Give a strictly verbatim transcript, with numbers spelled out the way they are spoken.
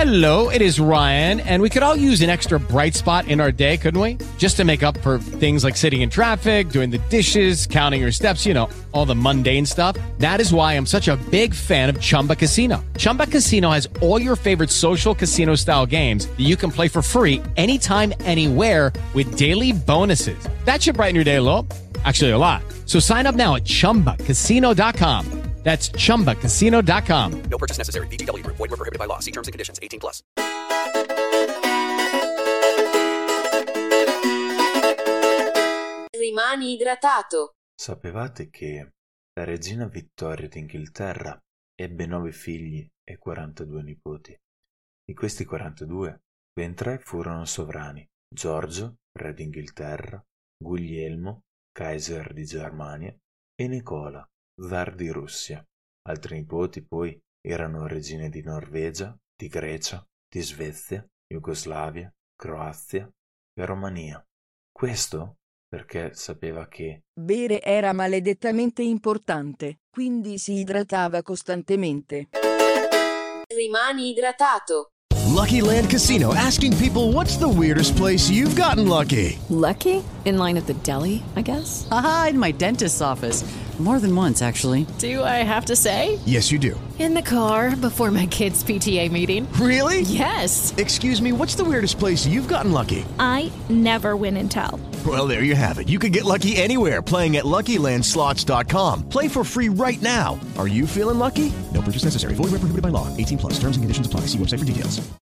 Hello, it is Ryan, and we could all use an extra bright spot in our day, couldn't we? Just to make up for things like sitting in traffic, doing the dishes, counting your steps, you know, all the mundane stuff. That is why I'm such a big fan of Chumba Casino. Chumba Casino has all your favorite social casino-style games that you can play for free anytime, anywhere with daily bonuses. That should brighten your day a little. Actually, a lot. So sign up now at chumba casino dot com. That's chumba casino dot com. No purchase necessary. V G W Group. Void where prohibited by law. See terms and conditions. eighteen plus. Rimani idratato. Sapevate che la regina Vittoria d'Inghilterra ebbe nove figli e quarantadue nipoti? Di questi quarantadue, ben tre furono sovrani: Giorgio, re d'Inghilterra, Guglielmo, Kaiser di Germania, e Nicola, zar di Russia. Altri nipoti poi erano regine di Norvegia, di Grecia, di Svezia, Jugoslavia, Croazia e Romania. Questo perché sapeva che bere era maledettamente importante, quindi si idratava costantemente. Rimani idratato. Lucky Land Casino, asking people, what's the weirdest place you've gotten lucky? Lucky? In line at the deli, I guess? Aha, in my dentist's office. More than once, actually. Do I have to say? Yes, you do. In the car before my kids' P T A meeting. Really? Yes. Excuse me, what's the weirdest place you've gotten lucky? I never win and tell. Well, there you have it. You can get lucky anywhere, playing at Lucky Land Slots dot com. Play for free right now. Are you feeling lucky? No purchase necessary. Void where prohibited by law. eighteen plus. Terms and conditions apply. See website for details.